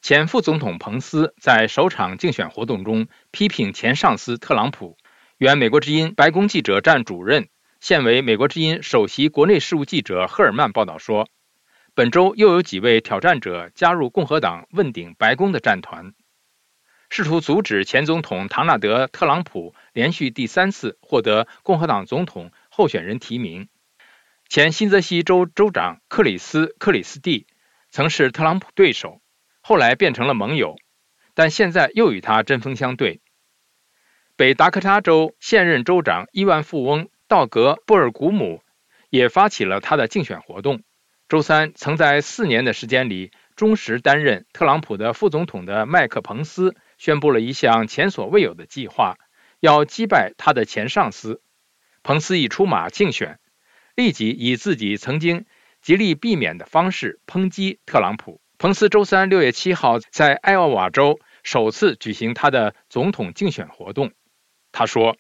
前副总统彭斯在首场竞选活动中批评前上司特朗普。原美国之音白宫记者站主任、现为美国之音首席国内事务记者赫尔曼报道说，本周又有几位挑战者加入共和党问鼎白宫的战团，试图阻止前总统唐纳德·特朗普连续第3次获得共和党总统候选人提名。前新泽西州州长克里斯·克里斯蒂曾是特朗普对手，后来变成了盟友，但现在又与他针锋相对。北达科他州现任州长亿万富翁道格·布尔古姆也发起了他的竞选活动。周三，曾在4年的时间里忠实担任特朗普的副总统的麦克·彭斯宣布了一项前所未有的计划，要击败他的前上司。彭斯一出马竞选，立即以自己曾经极力避免的方式抨击特朗普。彭斯周三6月7号在艾奥瓦州首次举行他的总统竞选活动。他说，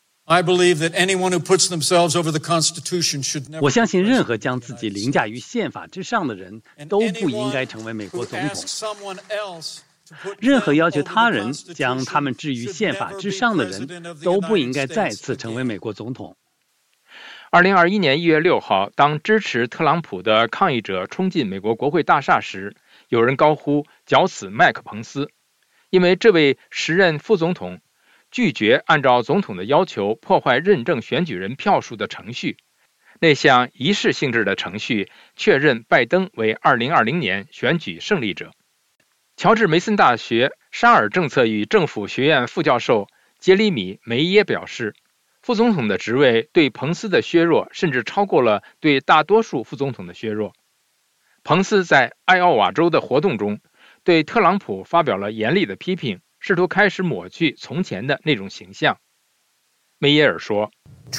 我相信任何将自己凌驾于宪法之上的人都不应该成为美国总统。任何要求他人将他们置于宪法之上的人都不应该再次成为美国总统。 2021年1月6号，当支持特朗普的抗议者冲进美国国会大厦时，有人高呼绞死麦克·彭斯，因为这位时任副总统拒绝按照总统的要求破坏认证选举人票数的程序。那项仪式性质的程序确认拜登为2020年选举胜利者。乔治梅森大学沙尔政策与政府学院副教授杰里米·梅耶表示，副总统的职位对彭斯的削弱甚至超过了对大多数副总统的削弱。彭斯在艾奥瓦州的活动中对特朗普发表了严厉的批评，试图开始抹去从前的那种形象。梅耶尔说，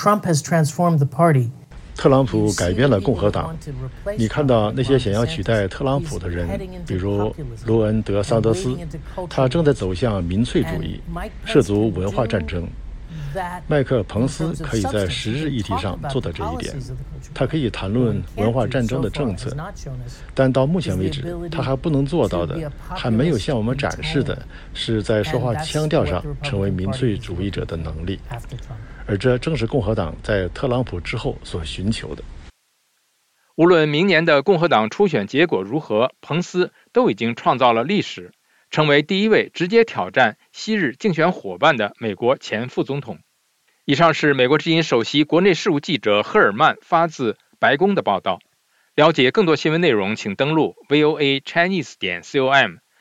特朗普改变了共和党。你看到那些想要取代特朗普的人，比如罗恩·德桑德斯，他正在走向民粹主义，涉足文化战争。麦克·彭斯可以在时事议题上做到这一点，他可以谈论文化战争的政策，但到目前为止，他还不能做到的，还没有向我们展示的，是在说话腔调上成为民粹主义者的能力，而这正是共和党在特朗普之后所寻求的。 无论明年的共和党初选结果如何，彭斯都已经创造了历史，成为第一位直接挑战昔日竞选伙伴的美国前副总统。以上是美国之音首席国内事务记者赫尔曼发自白宫的报道。了解更多新闻内容，请登录 voachinese.com。